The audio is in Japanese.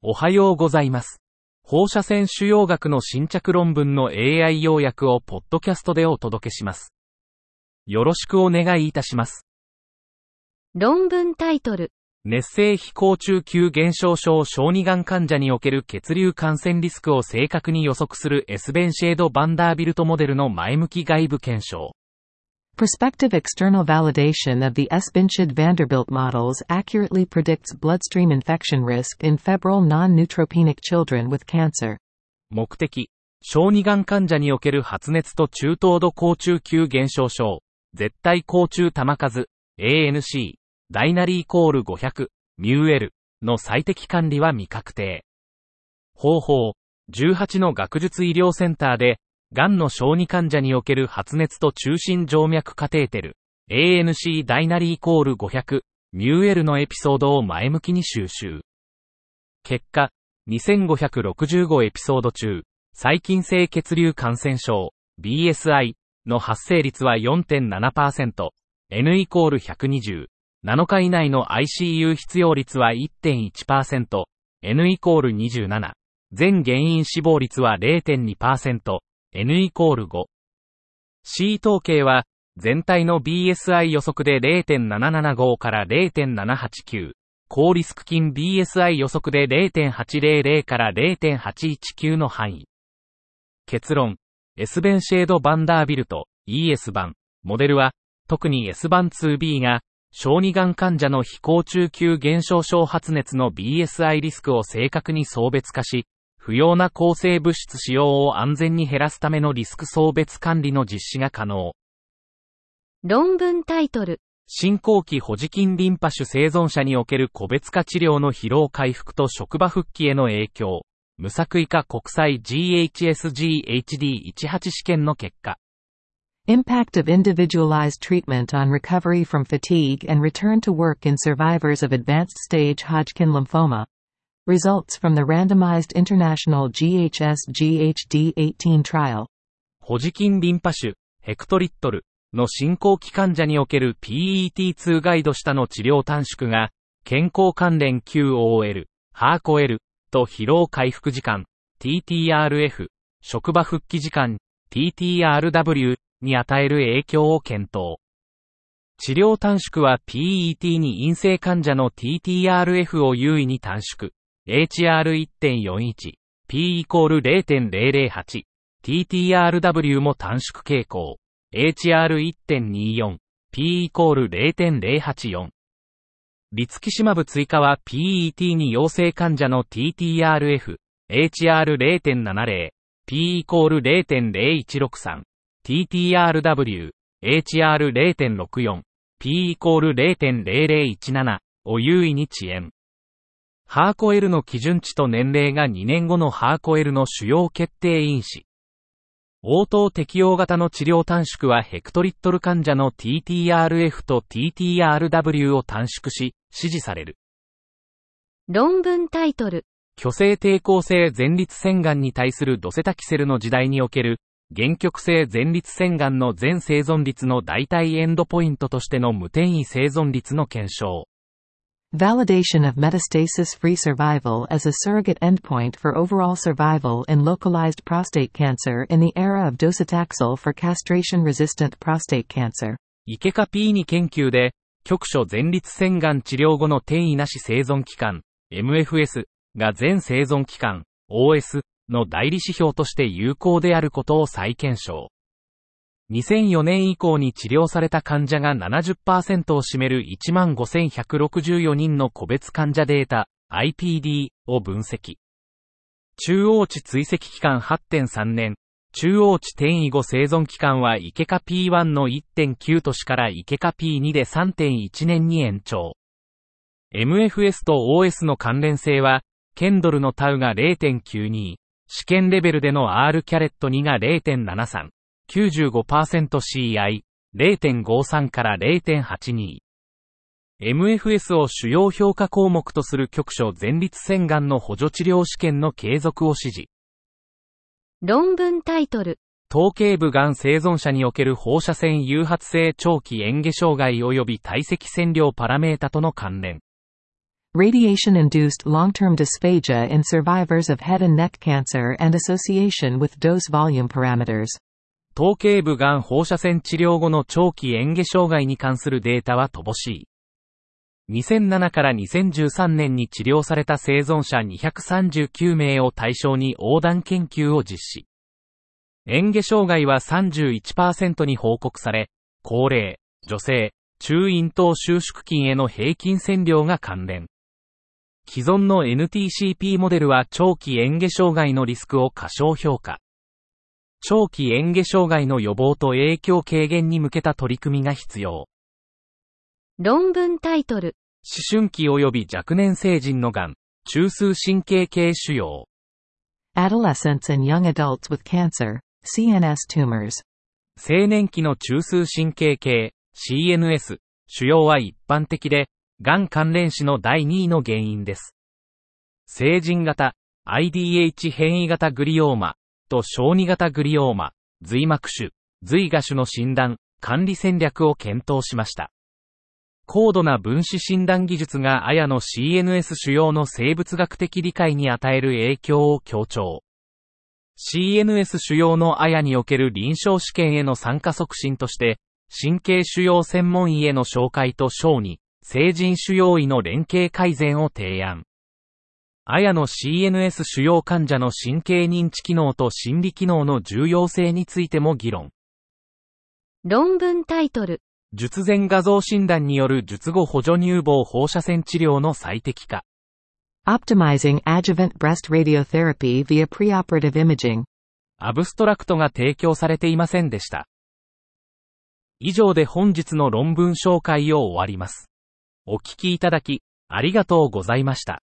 おはようございます。放射線腫瘍学の新着論文の AI 要約をポッドキャストでお届けします。よろしくお願いいたします。 論文タイトル。 熱性非高中級減少症小児がん患者における血流感染リスクを正確に予測するエスベンシェード・バンダービルトモデルの前向き外部検証。 Prospective external validation of the Esbenshade-Vanderbilt models accurately predicts bloodstream infection risk in febrile non-neutropenic children with cancer. 目的、小児がん患者における発熱と中等度高中級減少症、絶対高中玉数、ANC、ダイナリー=500、ミューエルの最適管理は未確定。方法、18の学術医療センターで、がんの小児患者における発熱と中心静脈カテーテル、ANC ダイナリー=500、ミューエルのエピソードを前向きに収集。結果、2565エピソード中、細菌性血流感染症、BSI の発生率は 4.7%、N=120、7日以内の ICU 必要率は 1.1%、N=27、全原因死亡率は 0.2%、N=5。C 統計は、全体の BSI 予測で 0.775 から 0.789、高リスク菌 BSI 予測で 0.800 から 0.819 の範囲。結論、エスベンシェード・バンダービルト、ES 版、モデルは、特に S 版 2B が、小児がん患者の非高中級減少症発熱の BSI リスクを正確に相別化し、不要な抗生物質使用を安全に減らすためのリスク相別管理の実施が可能。 論文タイトル。 進行期ホジキンリンパ種生存者における個別化治療の疲労回復と職場復帰への影響。無作為化国際 GHSGHD18 試験の結果。 Impact of individualized treatment on recovery from fatigue and return to work in survivors of advanced stage Hodgkin lymphoma. Results from the randomized international GHSGHD18 trial. ホジキンリンパ種、ヘクトリットルの進行期患者における PET2 ガイド下の治療短縮が、健康関連 QOL、HARCOL と疲労回復時間、TTRF、職場復帰時間、TTRW に与える影響を検討。治療短縮は PET に陰性患者の TTRF を優位に短縮。HR1.41、P=0.008、TTRW も短縮傾向。HR1.24、P=0.084。リツキシマブ追加は PET に陽性患者の TTRF、HR0.70、P=0.0163、TTRW、HR0.64、P=0.0017 を優位に遅延。HARCOL の基準値と年齢が2年後の HARCOL の主要決定因子。応答適用型の治療短縮はヘクトリットル患者の TTRF と TTRW を短縮し、支持される。 論文タイトル。 虚勢抵抗性前立腺がんに対するドセタキセルの時代における、限局性前立腺がんの全生存率の代替エンドポイントとしての無転移生存率の検証。 Validation of metastasis-free survival as a surrogate endpoint for overall survival in localized prostate cancer in the era of docetaxel for castration-resistant prostate cancer. イケカ P2 研究で、局所前立腺がん治療後の転移なし生存期間、MFS が全生存期間、OS の代理指標として有効であることを再検証。2004年以降に治療された患者が 70% を占める 15,164 人の個別患者データ IPD を分析。中央値追跡期間 8.3 年、中央値転移後生存期間はイケカ P1 の 1.9 年からイケカ P2 で 3.1 年に延長。MFS と OS の関連性は、ケンドルのタウが 0.92、試験レベルでの R キャレット2が 0.73。95% CI、0.53 から 0.82。MFS を主要評価項目とする局所前立腺がんの補助治療試験の継続を指示。 論文タイトル。 頭頸部がん生存者における放射線誘発性長期嚥下障害及び体積線量パラメータとの関連。 Radiation-induced long-term dysphagia in survivors of head and neck cancer and association with dose volume parameters. 頭頸部がん放射線治療後の長期嚥下障害に関するデータは乏しい。2007から2013年に治療された生存者239名を対象に横断研究を実施。嚥下障害は 31% に報告され、高齢、女性、中咽頭収縮筋への平均線量が関連。既存の NTCP モデルは長期嚥下障害のリスクを過小評価。長期嚥下障害の予防と影響軽減に向けた取り組みが必要。 論文タイトル。 思春期及び若年成人のがん、中枢神経系腫瘍。 Adolescents and young adults with cancer, CNS tumors. 青年期の中枢神経系、CNS、腫瘍は一般的で、がん関連死の第2位の原因です。成人型、IDH 変異型グリオーマと小児型グリオーマ、髄膜腫、髄芽腫の診断、管理戦略を検討しました。高度な分子診断技術がAYAの CNS 腫瘍の生物学的理解に与える影響を強調。CNS 腫瘍のAYAにおける臨床試験への参加促進として、神経腫瘍専門医への紹介と小児、成人腫瘍医の連携改善を提案。AYAの CNS 腫瘍患者の神経認知機能と心理機能の重要性についても議論。 論文タイトル。 術前画像診断による術後補助乳房放射線治療の最適化。 Optimizing adjuvant breast radiotherapy via preoperative imaging. アブストラクトが提供されていませんでした。以上で本日の論文紹介を終わります。お聞きいただき、ありがとうございました。